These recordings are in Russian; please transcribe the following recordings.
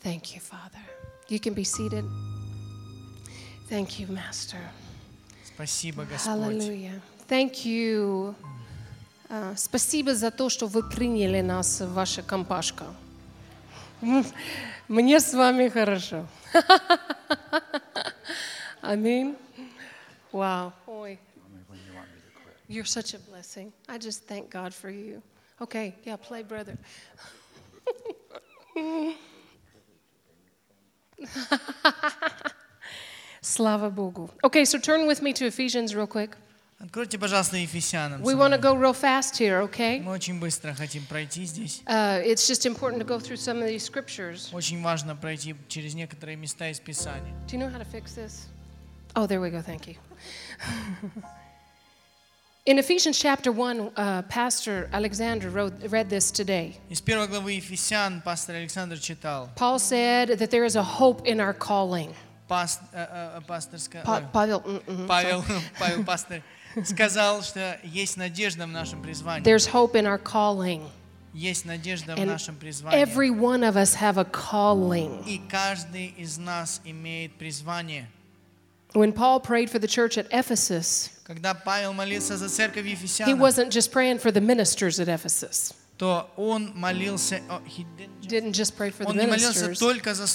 Thank you, Father. You can be seated. Thank you, Master. Спасибо, Господь. Hallelujah. Thank you. Спасибо за то, что вы приняли нас в ваша компашка. Мне с вами хорошо. Аминь. Wow. Ой. You're such a blessing. I just thank God for you. Okay, yeah, play, brother. Слава Богу. Okay, so turn with me to Ephesians real quick. Откройте, пожалуйста, Ефесянам. We want to go real fast here, okay? Мы очень быстро хотим пройти здесь. It's just important to go through some of these scriptures. Очень важно пройти через некоторые места из Писания. Do you know how to fix this? Oh, there we go. Thank you. In Ephesians chapter 1, Pastor Alexander read this today. Из первой главы Ефесян пастор Александр читал. Paul said that there is a hope in our calling. Павел пастор сказал, что есть надежда в нашем призвании. There's hope in our calling. Есть надежда в And нашем призвании. every one of us have a calling. И каждый из нас имеет призвание. When Paul prayed for the church at Ephesus, Когда Павел молился за церковь he Ефесяна, wasn't just praying for the ministers at Ephesus. то он молился, Didn't just pray for the он не молился ministers. только за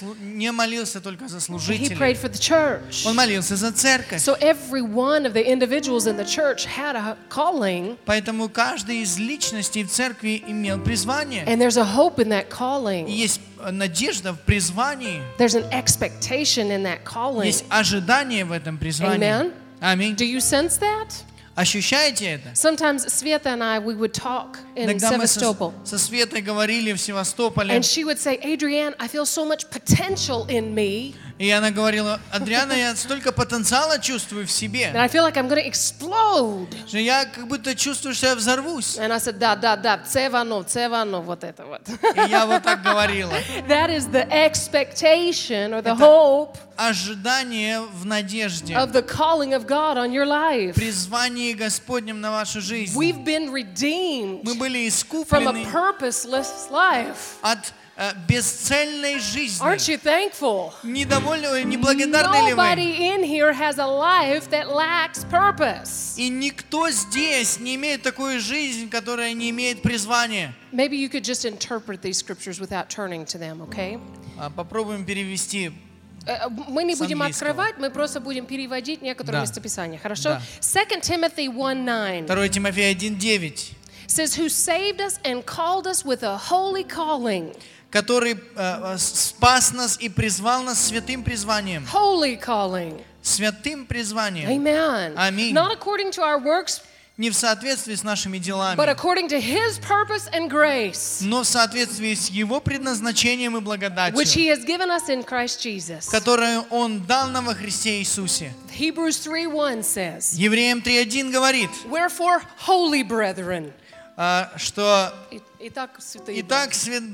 He служителей. prayed for the church. Он молился за церковь. So every one of the individuals in the church had a calling, Поэтому каждый из личностей в церкви имел призвание. and there's a hope in that И calling. есть надежда в призвании. There's an expectation in that calling. Есть ожидание в этом призвании. Amen. Аминь. Do you sense that? Ощущаете это? Sometimes Sveta and I, we would talk in Иногда мы Sevastopol. со Светой говорили в Севастополе, And she would say, Adrienne, I feel so much potential in me и она говорила: Адриана, я столько потенциала чувствую в that себе, I feel like I'm going to explode. что я как будто чувствую, что я взорвусь. And I said, да, цевано, вот это вот. И я вот так говорила. That is the expectation or the hope Ожидание в надежде. of the calling of God on your life. Призвание Господнем на вашу жизнь. We've been redeemed Мы были from a искуплены purposeless life. от бесцельной жизни. Aren't you thankful? Недовольны, неблагодарны ли вы? Nobody in here has a life that lacks purpose. И никто здесь не имеет такую жизнь, которая не имеет призвания. Maybe you could just interpret these scriptures without turning to them, okay? Попробуем перевести. Мы не будем английского. открывать, мы просто будем переводить некоторые Да. местописания, хорошо? Да. 2 Timothy 1:9 2 Тимофея 1:9, says, who saved us and called us with a holy calling. который спас нас и призвал нас святым призванием. Holy calling. Святым призванием. Amen. Аминь. Not according to our works, Не в соответствии с нашими делами, but according to His purpose and grace, но в соответствии с Его предназначением и which благодатью, He has given us in Christ Jesus. которую Он дал нам во Христе Иисусе. Hebrews 3:1 says, Евреям 3:1 говорит, wherefore, holy brethren. что Итак, святые итак,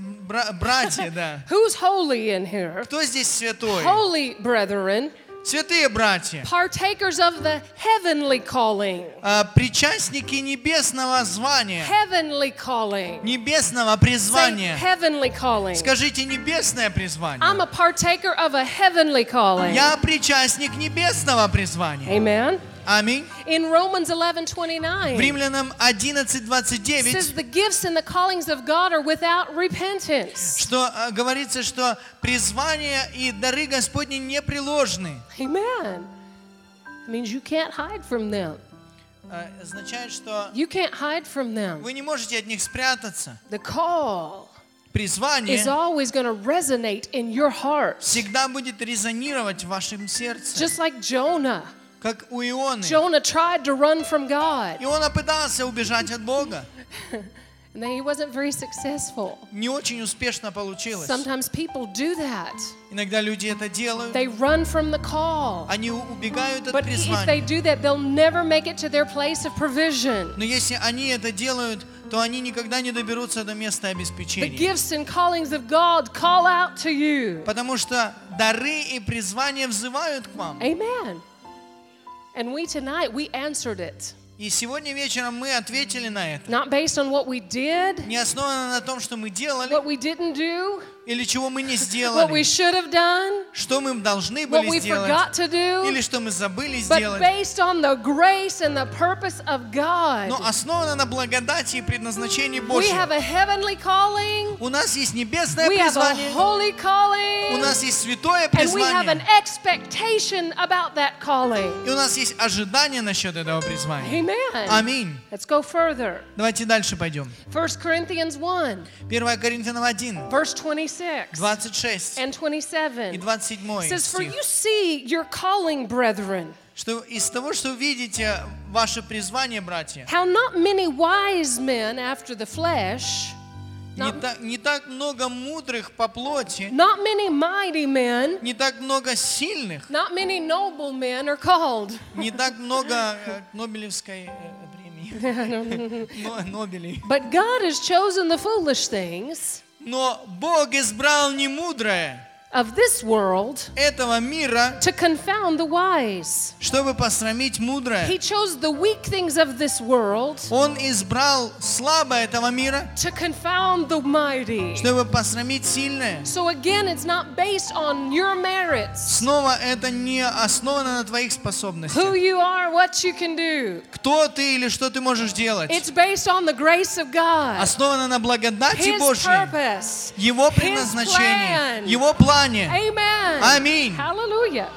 братья, да. Who's holy in here? Кто здесь святой? Holy brethren, Святые братья, partakers of the heavenly calling. причастники небесного звания, Heavenly calling. небесного Say призвания. heavenly calling. Скажите небесное призвание. I'm a partaker of a heavenly calling. Я причастник небесного призвания. Amen. Аминь. In Romans В 11:29 Римлянам says 11:29, the gifts and the callings of God are without repentance. что говорится, что призвания и дары Господни непреложны. Amen. It means you can't hide from them. Означает, что You can't hide from them. вы не можете от них спрятаться. The call Призвание is always going to resonate in your heart. всегда будет резонировать в вашем сердце, Just like Jonah. как у Ионы. Jonah tried to run from God, Иона пытался убежать от Бога. and then he wasn't very successful. Не очень успешно получилось. Sometimes people do that. Иногда люди это делают. They run from the call. Они убегают от But if they призвания. do that, they'll never make it to their place of provision. Но если они это делают, то они никогда не доберутся до места The обеспечения. gifts and callings of God call out to you. Потому что дары и призвания взывают к вам. Amen. And we tonight, we answered it. И сегодня вечером мы ответили на это. Not based on what we did, Не основано на том, что мы делали, what we didn't do, или чего мы не what we сделали, should have done, что мы должны what были we сделать, forgot to do, или что мы забыли but сделать, based on the grace and the purpose of God. но основано на благодати и предназначении We Божьем. have a heavenly calling, У нас есть небесное we have a призвание, holy у calling, нас есть святое and we have an призвание, expectation about that calling. и у нас есть ожидание насчет этого призвания. Amen. Аминь. Let's go further. Давайте дальше пойдем. 1 Corinthians 1, 1 Коринфянам 1, verse 26 26 and и 27. 27 Says, for стих. you see your calling, brethren, Что из того, что видите ваше призвание, братья, how not many wise men after the flesh, не так много мудрых по плоти, not many mighty men, не так много сильных, not many noble men are called. не так много Нобелевской премии, Нобелей. But God has chosen the foolish things Но Бог избрал немудрое of this world этого мира, to confound the wise. чтобы посрамить мудрое. He chose the weak things of this world Он избрал слабое этого мира, to confound the mighty. чтобы посрамить сильное. So again, it's not based on your merits, Снова это не основано на твоих who способностях. you are, what you can do. Кто ты или что ты можешь делать. It's based on the grace of God, Основано на благодати His Божьей, purpose. Его plan. предназначении, Его плане. Amen. Аминь. Hallelujah.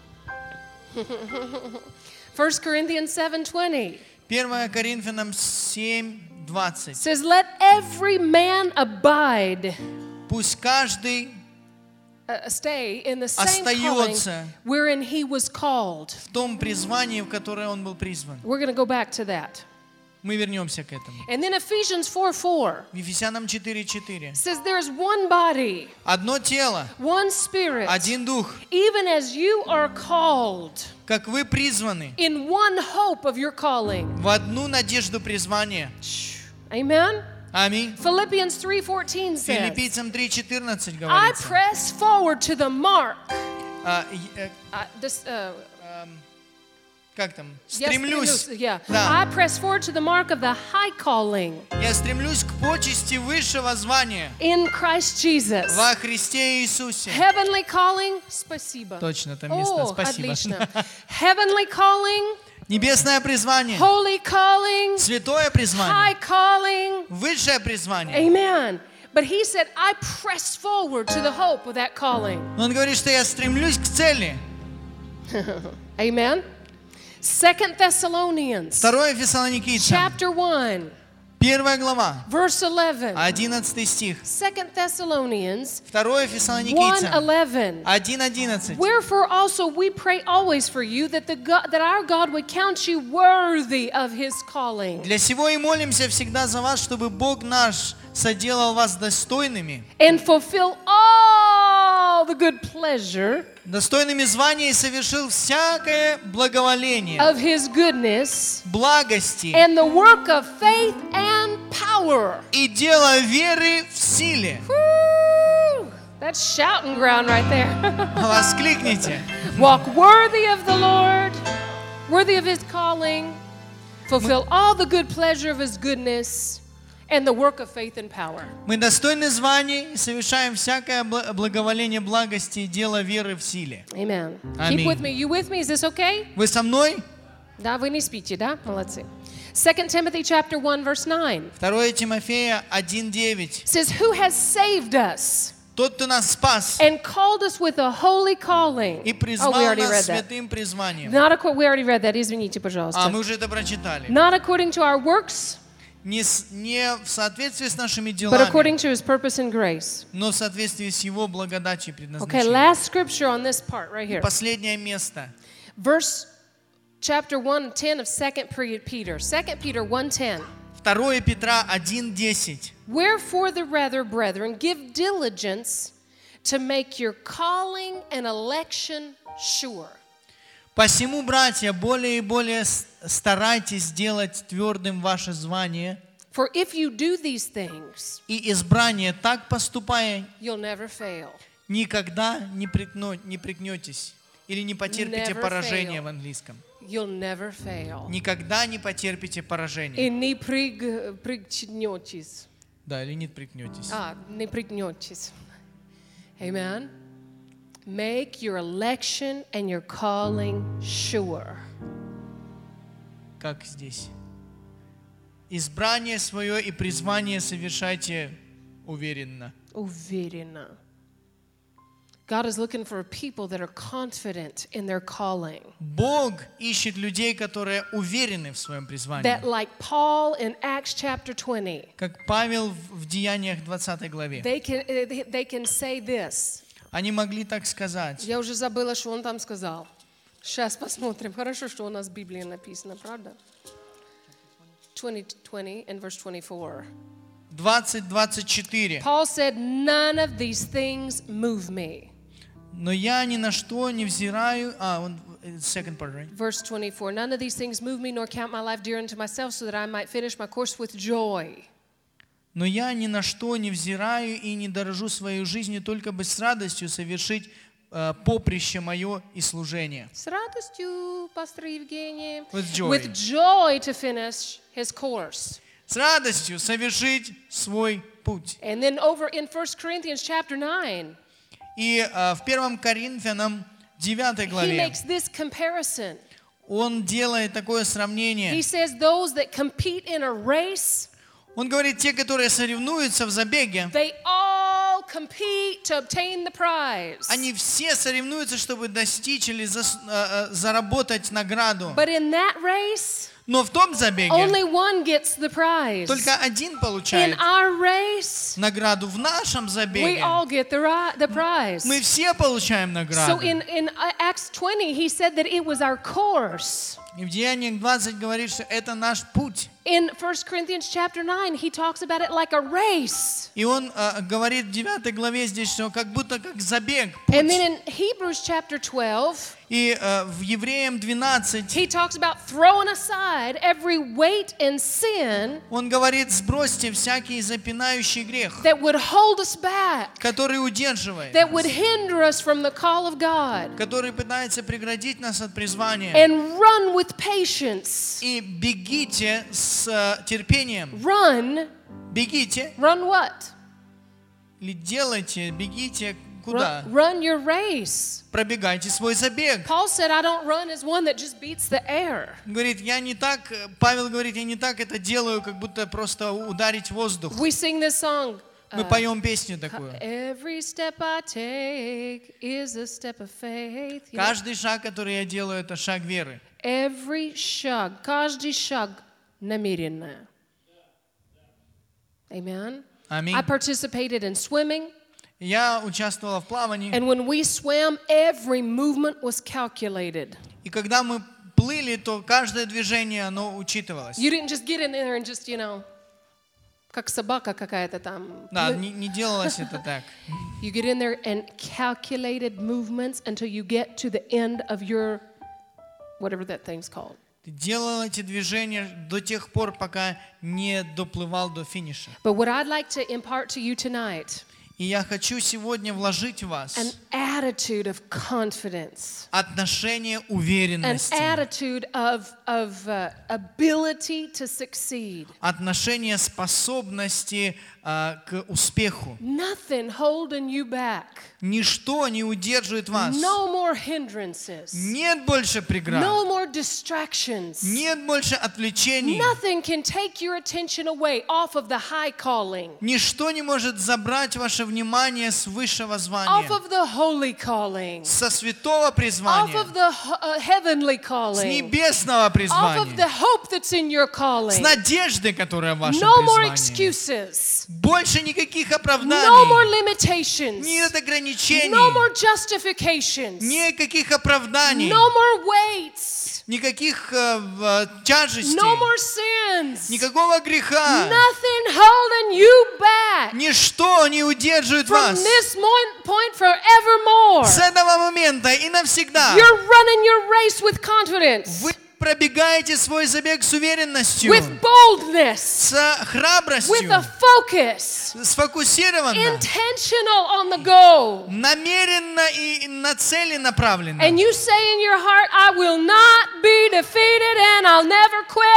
1 Corinthians 7:20 1 Коринфянам 7:20. says, let every man abide, Пусть каждый stay in the same calling остается wherein he was called. в том призвании, в которое он был призван. We're going to go back to that. Мы вернемся к этому. And then Ephesians 4:4 Ефесянам 4:4. says there's one body, Одно тело, one spirit, один дух, even as you are called как вы призваны in one hope of your calling. в одну надежду призвания. Amen. Аминь. Philippians 3:14 says, Филиппийцам 3:14 I говорится. press forward to the mark. Как там? Yes, Стремлюсь. yeah. Да. I press forward to the mark of the high calling Я стремлюсь к почести высшего звания in Christ Jesus. во Христе Иисусе. Heavenly calling. Спасибо. Точно, там место. О, Спасибо. отлично. Heavenly calling, Небесное призвание, holy calling, святое high призвание, calling. высшее призвание. Amen. But he said, I press forward to the hope of that calling. Но он говорит, что я стремлюсь к цели. Amen. 2 Thessalonians 2 Фессалоникийцам, chapter 1, 1 глава, verse 11. 11 стих. 2 Thessalonians 2 Фессалоникийцам, 1:11. 1:11. Wherefore also we pray always for you that that our God would count you worthy of his calling. Для сего и молимся всегда за вас, чтобы Бог наш соделал вас достойными, And fulfill all the good pleasure достойными звания и совершил всякое благоволение, of his goodness благости and the work of faith and power. и дело веры в силе. Woo! That's shouting ground right there. Воскликните. Walk worthy of the Lord, worthy of his calling, fulfill all the good pleasure of his goodness and the work of faith and power. Мы достойны званий и совершаем всякое благоволение благости и дело веры в силе. Amen. Аминь. Keep with me. You with me? Is this okay? Вы со мной? Да, вы не спите, да? Молодцы. 2 Timothy chapter 1 verse 9 2 Тимофея 1:9. says, who has saved us Тот, кто нас спас and called us with a holy calling. и Oh, we призвал already read нас that. святым призванием. We already read that. Извините, пожалуйста. Мы уже это прочитали. Not according to our works, Не в соответствии с нашими but делами, according to his purpose and grace. но в соответствии с Его благодатью и Okay, предназначением. last scripture on this part right here. Последнее место. Chapter 1:10 of 2 Peter. 2 Peter 1:10. 2 Петра 1:10. Wherefore the rather, brethren, give diligence to make your calling and election sure. Посему, братья, более и более старайтесь сделать твердым ваше звание For if you do these things, и избрание, так поступая, you'll never fail. никогда не пригнетесь или не потерпите Never поражение fail. в английском. You'll never fail. Никогда не потерпите поражение. И не пригнетесь. Да, или не пригнетесь. Не пригнетесь. Amen. Make your election and your calling sure. Как здесь? Избрание свое и призвание совершайте уверенно. Уверенно. God is looking for people that are confident in their calling. Бог ищет людей, которые уверены в своем призвании. That like Paul in Acts chapter 20. Как Павел в Деяниях 20 главе. They can say this. Они могли так сказать. Я уже забыла, что он там сказал. Сейчас посмотрим. Хорошо, что у нас в Библии написано, правда? 20 and verse 24. 20:24. Paul said, none of these things move me. Но я ни на что не взираю. Second part, right? Verse 24. None of these things move me, nor count my life dear unto myself, so that I might finish my course with joy. Но я ни на что не взираю и не дорожу своей жизнью, только бы с радостью совершить поприще мое и служение. С радостью, пастор Евгений. With joy. With joy to finish his course. С радостью совершить свой путь. And then over in 1 Corinthians chapter 9. И в 1 Коринфянам 9 He главе makes this comparison. он делает такое сравнение. He says those that compete in a race, Он говорит, те, которые соревнуются в забеге, they all compete to obtain the prize. они все соревнуются, чтобы достичь или заработать награду. But in that race, Но в том забеге only one gets the prize. только один In получает our race, награду. В нашем we забеге all get the prize. мы все получаем So награду. in Acts 20, he said that it was our course. И в Деяниях 20 говорит, что это наш путь. In 1 Corinthians chapter 9, he talks about it like a race. И он говорит в 9 главе здесь, что как будто как забег, And путь. then in Hebrews chapter 12, И в Евреям 12 he talks about throwing aside every weight and sin он говорит, сбросьте всякий запинающий грех, that would hold us back, который удерживает, that would hinder us from the call of God, который пытается преградить нас от призвания. and run with patience. И бегите с терпением. Run Бегите. what? Или делайте, бегите куда? Run your race. Пробегайте свой забег. Paul said, I don't run as one that just beats the air. Говорит, я не так, Павел говорит, я не так это делаю, как будто просто ударить воздух. We sing this song. Мы поем песню такую. Every step I take is a step of faith. You know? Каждый шаг, который я делаю, это шаг веры. Every шаг, каждый шаг намеренно. Amen. Аминь. I participated in swimming, Я участвовала в плавании, and when we swam, every movement was calculated. и когда мы плыли, то каждое движение, оно учитывалось. You didn't just get in there and just, как собака какая-то там. Да, не делалось это так. You get in there and calculated movements until you get to the end of your, whatever that thing's called. Ты делал эти движения до тех пор, пока не доплывал до финиша. But what I'd like to impart to you tonight, И я хочу сегодня вложить в вас an attitude of confidence, отношение an уверенности, attitude of ability to succeed. отношение способности к успеху. Nothing holding you back. Ничто не удерживает вас. No more hindrances. Нет больше преград. No more distractions. Нет больше отвлечений. Nothing can take your attention away off of the high calling, Ничто не может забрать ваше внимание с высшего off звания, of the holy calling, со святого off призвания, of the heavenly с calling, небесного off of призвания, the hope that's in your с calling. надеждой, которая в вашем No more призвании. excuses. Больше никаких No more оправданий, limitations. нет ограничений, No more justifications. никаких оправданий, No more weights. никаких тяжестей, No more sins. никакого греха. Nothing holding you back Ничто не удерживает from вас this point forevermore. с этого момента и навсегда. You're running your race with confidence, Вы пробегаете свой забег с уверенностью, with boldness, с with храбростью, a focus, сфокусированно, intentional on the goal. намеренно и на цели направленно. And you say in your heart, I will not be defeated and I'll never quit.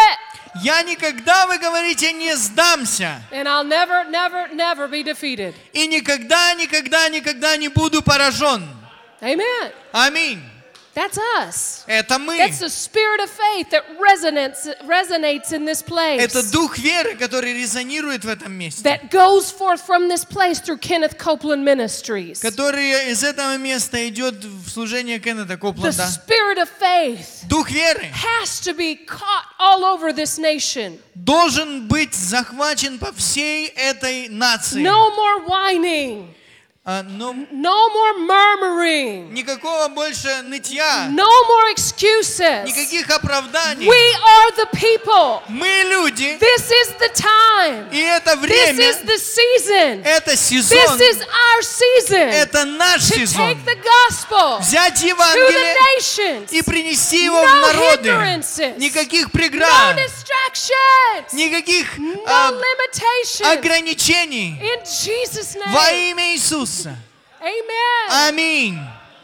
Я никогда, вы говорите, не сдамся. And I'll never, never, never be defeated. И никогда, никогда, никогда не буду поражен. Amen. Аминь. That's us. Это мы. That's the spirit of faith that resonates in this place. Это дух веры, который резонирует в этом месте. That goes forth from this place through Kenneth Copeland Ministries. Который из этого места идет в служение Кеннета The Копланда. spirit of faith Дух веры has to be caught all over this nation. должен быть захвачен по всей этой нации. No more whining. Но No more murmuring. никакого больше нытья, No more excuses. никаких оправданий. We are the people. Мы люди, This is the time. и это This время, is the season. это This сезон, is our season. это наш To сезон. take the gospel Взять to the Евангелие nations. и принести его в No народы. hindrances. Никаких No преград, distractions. никаких No limitations. ограничений. In Jesus' Во name. имя Иисуса. Amen. Аминь.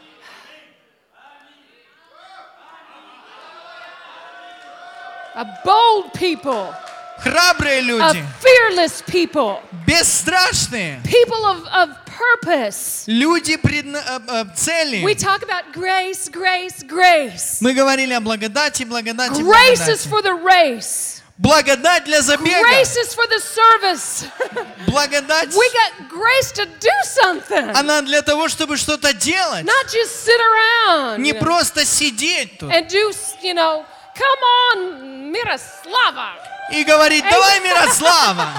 A bold people. Храбрые A люди, fearless people. бесстрашные, People of purpose. люди цели. We talk about grace, grace, grace. Мы говорили о благодати, благодати, Grace is благодати. for the race. Благодать для забега, Grace is for the service. благодать, We got grace to do something. она для того, чтобы что-то делать, Not just sit around. не you know, просто сидеть тут and do, come on, Miroslava. и говорить, давай, Мирослава.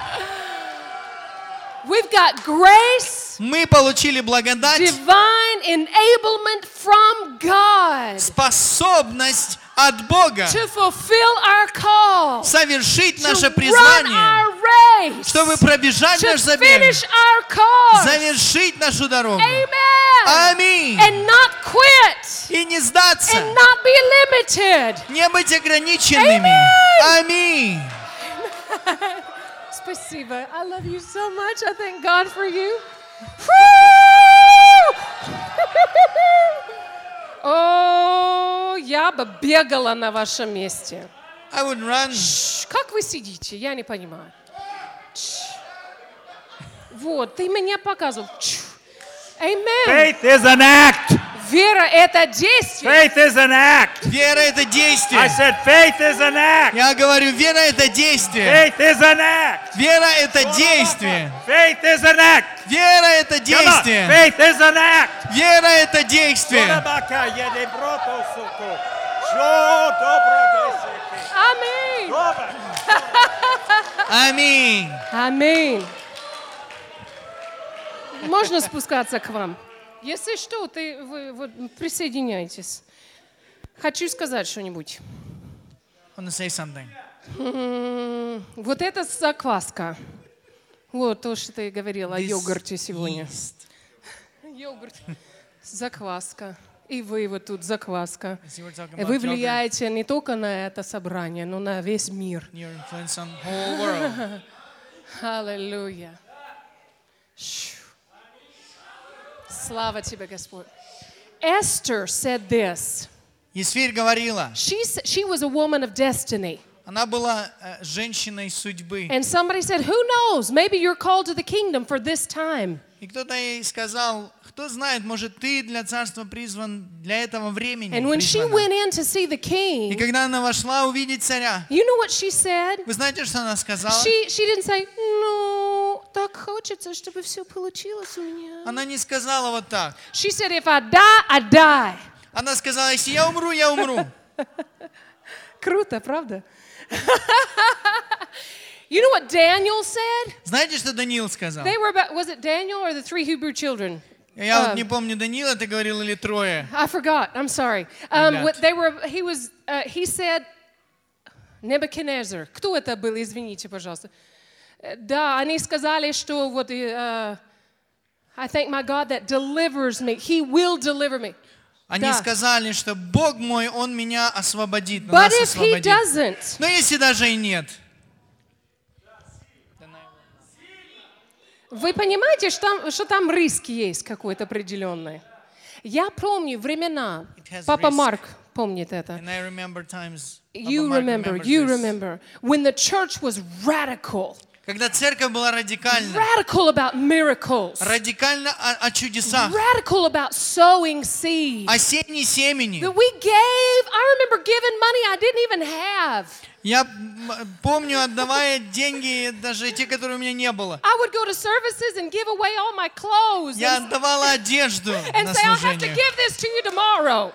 We've got grace, Мы получили благодать, divine enablement from God способность от Бога to fulfill our call, совершить to наше run призвание, our race, чтобы пробежать to наш забег, finish our cause. завершить нашу дорогу. Amen. Аминь. And not quit. И не сдаться, And not be limited. не быть ограниченными. Аминь. Спасибо. I love you so much. I thank God for you. О, я бы бегала на вашем месте. I would run. Как вы сидите? Я не понимаю. Вот, ты меня показывал. Amen. Faith is an act. Вера — это действие. Faith is an act. Вера — это I действие. said faith is an act. Я говорю, вера — это действие. Faith is an act. Вера — это действие. Faith is an act. Вера — это Come on. действие. Faith is an act. Вера — это действие. Аминь. Аминь. Аминь. Можно спускаться к вам? Если что, вы вот присоединяйтесь. Хочу сказать что-нибудь. I want to say something. Вот это закваска. Вот то, что ты говорила о This йогурте сегодня. yeast. Йогурт. Закваска. И вы вот тут закваска. You were talking И about вы yogurt. влияете не только на это собрание, но на весь мир. Your influence on the whole world. Аллилуйя. Слава тебе, Господь. Esther said this. Есфирь говорила, She was a woman of destiny. она была женщиной судьбы. And somebody said, who knows? Maybe you're called to the kingdom for this time. И кто-то ей сказал, кто знает, может, ты для царства призван для этого времени. And when she призвана». went in to see the И king, когда она вошла увидеть царя, you know what she said? вы знаете, что она сказала? She didn't say, ну, так хочется, чтобы все получилось у меня. Она не сказала вот так. She said, if I die, I die. Она сказала, если я умру, я умру. Круто, правда? You know what Daniel said? Знаете, что Даниил сказал? They were about, was it Daniel or the 3 Hebrew children? Я вот не помню, Даниила ты говорил или трое. I forgot. I'm sorry. He said, Nebuchadnezzar. Кто это был? Извините, пожалуйста. Да, они сказали, что вот, I thank my God that delivers me. He will deliver me. Они Да. сказали, что Бог мой, Он меня освободит, But нас if he освободит. doesn't, Но если даже и нет, вы понимаете, что там риск есть какой-то определенный? Я помню времена, It has папа risk. Марк помнит это. And I remember times, You Papa Mark remember, remembers you this. remember, when the church was radical, Когда церковь была радикальна, radical about miracles, радикально о чудесах, radical about sowing seed. о сеянии семени. That we gave, I remember giving money I didn't even have. Я помню, отдавая деньги, даже те, которые у меня не было. I would go to services and give away all my clothes Я and отдавала одежду and на say, I'll have to служение. give this to you tomorrow.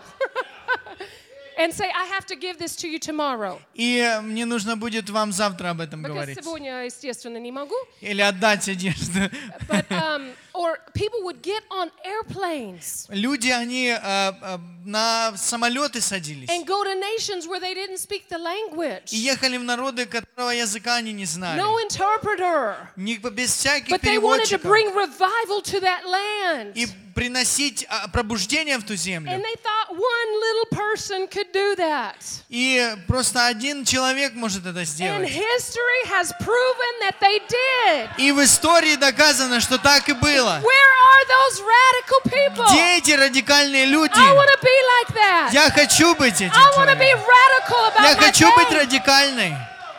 And say, I have to give this to you tomorrow. И мне нужно будет вам завтра об этом Because говорить. сегодня, естественно, не могу. Или отдать одежду. But, or people would get on airplanes Люди, они на самолеты садились. and go to nations where they didn't speak the language. И ехали в народы, которого языка они не знали. No interpreter. Без всяких But they wanted to переводчиков. bring revival to that land. И приносить пробуждение в ту землю. And they thought one little person could do that. И просто один человек может это And сделать. history has proven that they did. И в истории доказано, что так и было. Where are those radical people? Где эти радикальные люди? I want to be like that. Я хочу быть этим I want to be человеком. radical about Я my хочу быть faith. радикальной.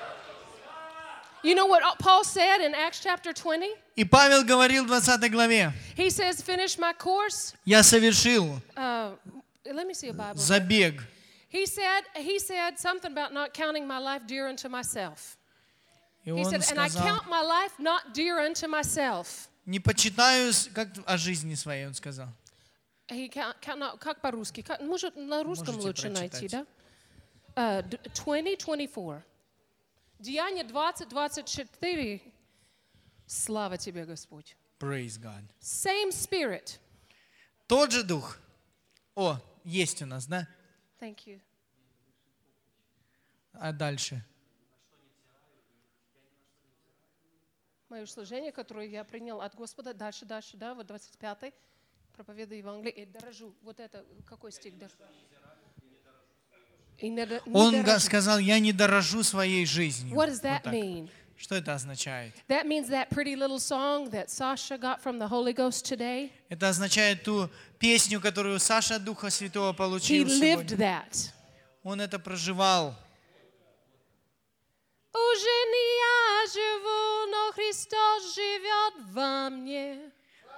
You know what Paul said in Acts chapter 20? И Павел говорил в 20 главе, He says, finish my course. я совершил Let me see a Bible. забег. He said something about not counting my life dear unto myself. И He он said, and I сказал, count my life not dear unto myself. не почитаю, как о жизни своей, он сказал. Как по-русски? Может, на русском Можете лучше найти, прочитать. да? 20:24. Деяние 20:24. Слава тебе, Господь. Praise God. Same spirit. Тот же дух. О, есть у нас, да? Thank you. А дальше? Мое служение, которое я принял от Господа, дальше, да, вот 25-й, проповедую Евангелие, и дорожу. Вот это, какой стих? Он сказал, я не дорожу своей жизнью. What does Вот that так. mean? Что это означает? That means that pretty little song that Sasha got from the Holy Ghost today, Это означает ту песню, которую Саша от Духа Святого he получил lived сегодня. that. Он это проживал. Уже не я живу, но Христос живет во мне.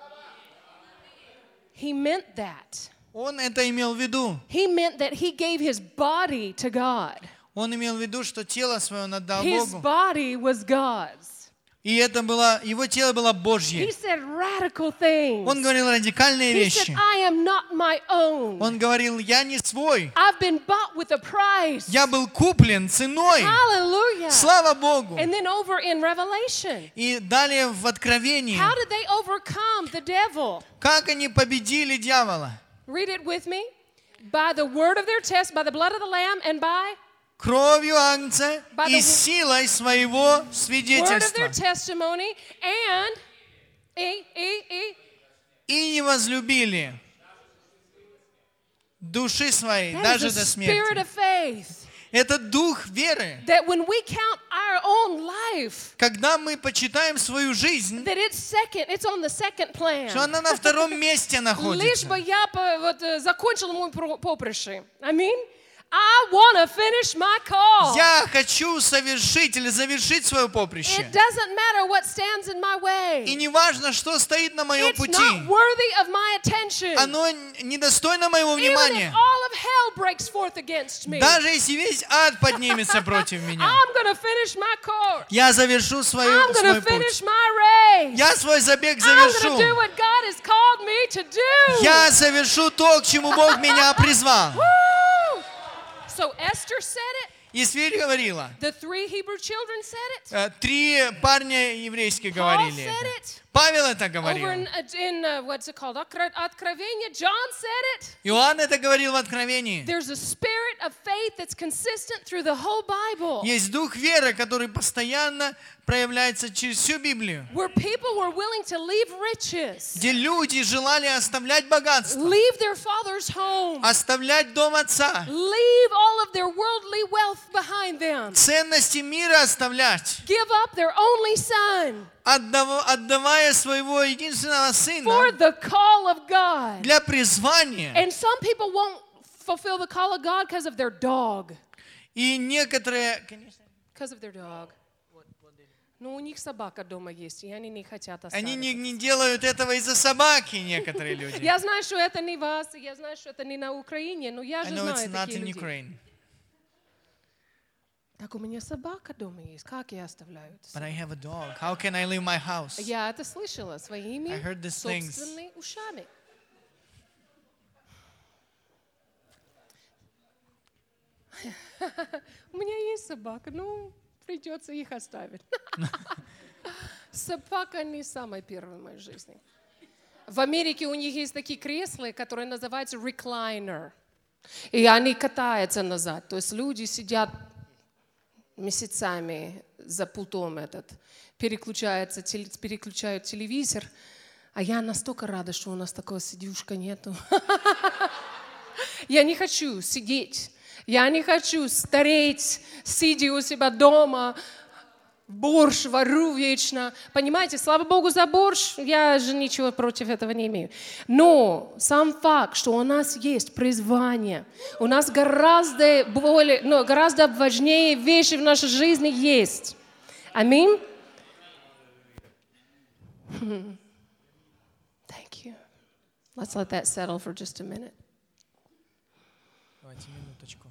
He meant that. Он это имел в виду. He meant that he gave his body to God. Он имел в виду, что тело свое он отдал His Богу. body was God's. И это было, его тело было He Божье. said radical things. Он говорил радикальные He said, вещи. I am not my own. Он говорил, я не свой. I've been bought with a price. Я был куплен ценой. Hallelujah. Слава Богу. And then over in Revelation, И далее в Откровении, how did they overcome the devil? как они победили дьявола? Read it with me. By the word of their test, by the blood of the Lamb, and by Кровью Агнца By и the силой своего word of свидетельства. their testimony, and И не возлюбили души своей that даже is до the spirit смерти. of faith. Это дух веры. That when we count our own life, Когда мы почитаем свою жизнь, that it's on the second plan. что она на втором месте Лишь находится. бы я закончил мой поприще. Аминь. I want to finish my call. Я хочу совершить или завершить свое поприще. It doesn't matter what stands in my way. И не важно, что стоит на моем It's пути. not worthy of my attention. Оно недостойно моего Even if внимания. all of hell breaks forth against me, Даже если весь ад поднимется против меня. I'm going to finish my course. Я завершу I'm свой going to путь. finish my race. Я свой забег I'm going завершу. to do what God has called me to do. Я совершу то, к чему Бог меня призвал. Woo! So Esther said it. Исфирь говорила. The 3 Hebrew children said it. 3 парня еврейские Paul говорили said это. it. Павел это Over говорил. in what's it called? Откровение. John said it. Иоанн это говорил в Откровении. There's a spirit of faith that's consistent through the whole Bible. Есть дух веры, который постоянно проявляется через всю Библию. Where people were willing to leave riches, Где люди желали оставлять богатство, leave their father's home, оставлять дом отца, leave all of their worldly wealth behind them, ценности мира оставлять, give up their only son, отдавая своего единственного for сына the call of God. для призвания. And some people won't fulfill the call of God because of their dog. И некоторые, Because of their dog. Ну, у них собака дома есть, и они не хотят они оставить. не делают этого из-за собаки, некоторые люди. Я знаю, что это не вас, я знаю, что это не на Украине, но я I же know it's знаю not такие in людей. Ukraine, Так у меня собака дома есть, как я оставляю это? but I have a dog. How can I leave my house? Я это слышала своими I heard these things. собственными ушами. У меня есть собака, ну, придется их оставить. Собака не самая первая в моей жизни. В Америке у них есть такие кресла, которые называются recliner. И они катаются назад. То есть люди сидят месяцами за пультом переключают телевизор. А я настолько рада, что у нас такого сидюшка нету. Я не хочу сидеть. Я не хочу стареть, сидя у себя дома, борщ варю вечно. Понимаете, слава Богу за борщ, я же ничего против этого не имею. Но сам факт, что у нас есть призвание, у нас гораздо важнее вещи в нашей жизни есть. Аминь. Thank you. Let's let that settle for just a minute. Давайте минуточку.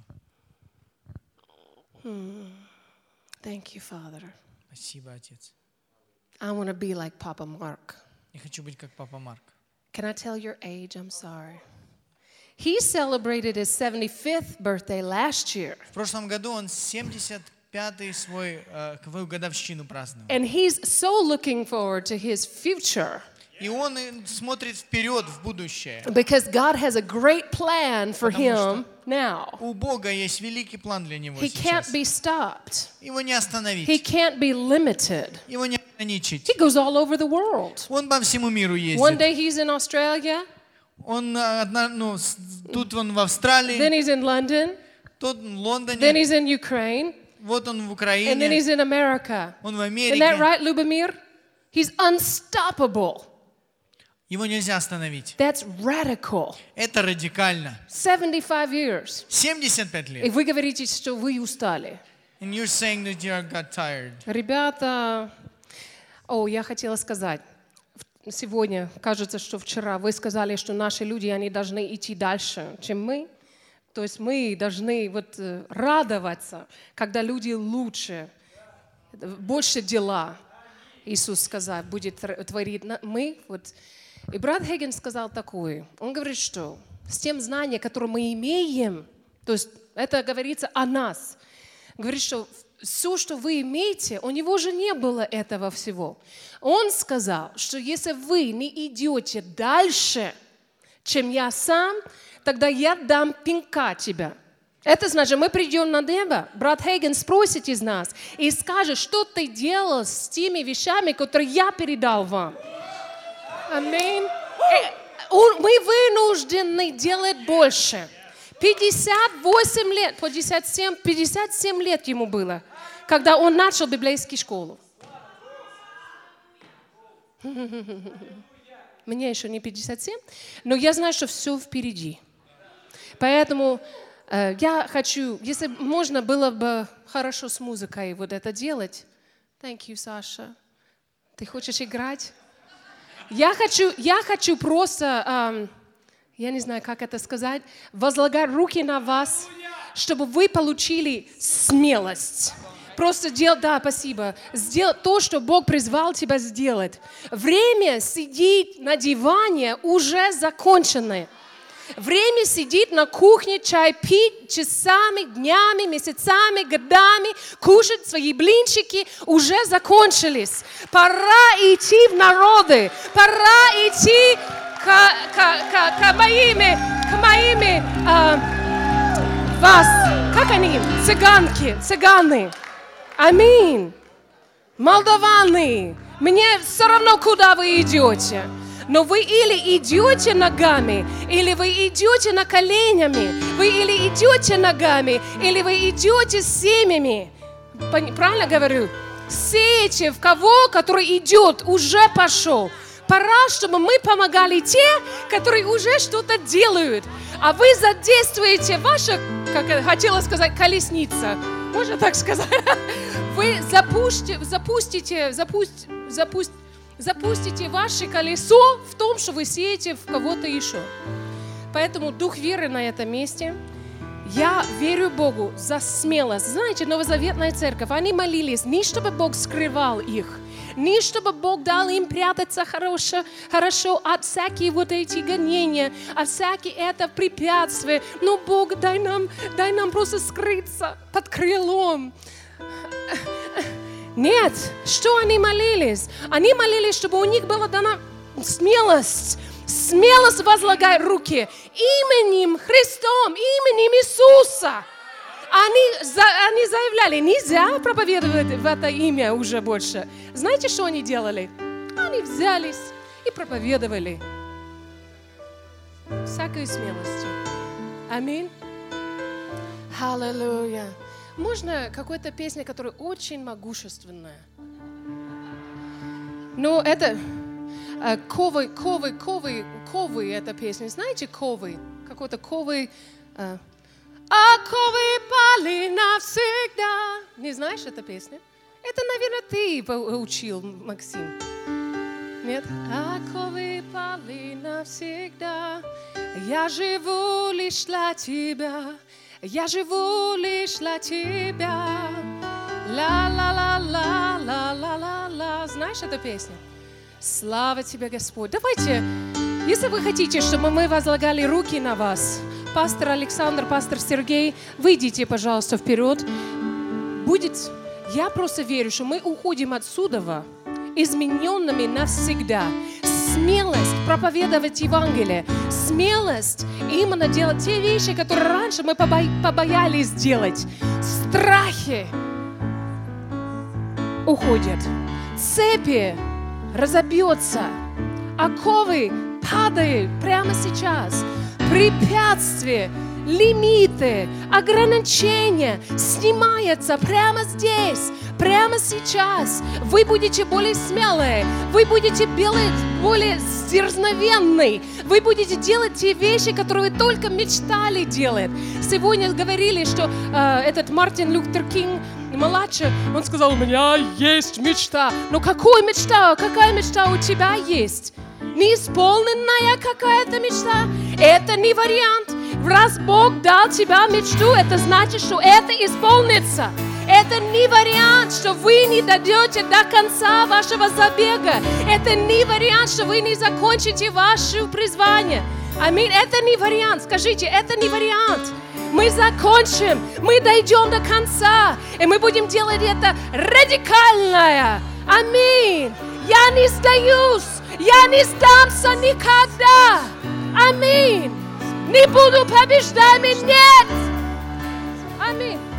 Thank you, Father. Спасибо, Отец. I want to be like Papa Mark. Я хочу быть как Папа Марк. Can I tell your age? I'm sorry. He celebrated his 75th birthday last year. В прошлом году он 75-й свою годовщину праздновал. And he's so looking forward to his future. И он смотрит вперед в будущее. Because God has a great plan for him now. У Бога есть великий план для него He can't сейчас. be stopped. Его не He остановить. can't be limited. Его не ограничить. He goes all over the world. Он по всему миру One ездит. day he's in Australia, Он тут он в Австралии, then he's in London, тут в then Лондоне, he's in Ukraine, вот он в and then Украине, he's in America. он в Isn't that Америке. right, Lubomir? He's unstoppable. Его нельзя остановить. That's radical. Это радикально. 75 years. 75 И лет. вы говорите, что вы устали. And you're saying that you got tired. Ребята, я хотела сказать. Сегодня, кажется, что вчера вы сказали, что наши люди, они должны идти дальше, чем мы. То есть мы должны радоваться, когда люди лучше, больше дела. Иисус сказал, будет творить мы. И брат Хейген сказал такое. Он говорит, что с тем знанием, которое мы имеем, то есть это говорится о нас, говорит, что все, что вы имеете, у него же не было этого всего. Он сказал, что если вы не идете дальше, чем я сам, тогда я дам пинка тебя. Это значит, мы придем на небо, брат Хейген спросит из нас и скажет, что ты делал с теми вещами, которые я передал вам. Аминь. Мы вынуждены делать больше. 58 лет, 57 лет ему было, когда он начал библейскую школу. Мне еще не 57, но я знаю, что все впереди. Поэтому я хочу, если можно было бы хорошо с музыкой это делать. Thank you, Саша. Ты хочешь играть? Я хочу просто, я не знаю, как это сказать, возлагать руки на вас, чтобы вы получили смелость. Просто делать, спасибо, сделать то, что Бог призвал тебя сделать. Время сидеть на диване уже закончено. Время сидеть на кухне, чай пить часами, днями, месяцами, годами, кушать свои блинчики уже закончились. Пора идти в народы, пора идти к моими вас, как они, цыганы. Аминь. Молдаваны, мне все равно, куда вы идете. Но вы или идете ногами, или вы идете на коленями, вы или идете ногами, или вы идете семьями. Правильно говорю? сеете в кого, который идет, уже пошел. Пора, чтобы мы помогали те, которые уже что-то делают. А вы задействуете ваша, как я хотела сказать, колесница. Можно так сказать? Вы запустите ваше колесо в том, что вы сеете в кого-то еще. Поэтому дух веры на этом месте. Я верю Богу за смелость. Знаете, Новозаветная церковь, они молились не чтобы Бог скрывал их, не чтобы Бог дал им прятаться хорошо от всяких вот эти гонения, от всяких это препятствия. Но Бог, дай нам просто скрыться под крылом. Нет, что они молились? Они молились, чтобы у них была дана смелость возлагать руки именем Христом, именем Иисуса. Они заявляли, нельзя проповедовать в это имя уже больше. Знаете, что они делали? Они взялись и проповедовали всякой смелостью. Аминь. Аллилуйя. Можно какую-то песню, которая очень могущественная? Ну, это ковы, эта песня. Знаете, ковы? Какой-то ковы. А ковы пали навсегда. Не знаешь эту песню? Это, наверное, ты учил, Максим. Нет? А ковы пали навсегда. Я живу лишь для тебя. Я живу лишь для тебя. Ла-ла-ла-ла-ла-ла-ла-ла. Знаешь эту песню? Слава тебе, Господь. Давайте, если вы хотите, чтобы мы возлагали руки на вас, пастор Александр, пастор Сергей, выйдите, пожалуйста, вперед. Я просто верю, что мы уходим отсюда измененными навсегда. Смелость проповедовать Евангелие, смелость именно делать те вещи, которые раньше мы побоялись делать. Страхи уходят, цепи разобьются, оковы падают прямо сейчас, препятствия, лимиты, ограничения снимаются прямо здесь, прямо сейчас. Вы будете более смелые, вы будете более дерзновенны, вы будете делать те вещи, которые вы только мечтали делать. Сегодня говорили, что этот Мартин Лютер Кинг младший, он сказал, у меня есть мечта. Но какая мечта? Какая мечта у тебя есть? Неисполненная какая-то мечта? Это не вариант. Раз Бог дал тебе мечту, это значит, что это исполнится. Это не вариант, что вы не дойдете до конца вашего забега. Это не вариант, что вы не закончите ваше призвание. Аминь. Это не вариант. Скажите, это не вариант. Мы закончим, мы дойдем до конца, и мы будем делать это радикально. Аминь. Я не сдаюсь, я не сдамся никогда. Аминь. Не буду побеждать, нет. Аминь.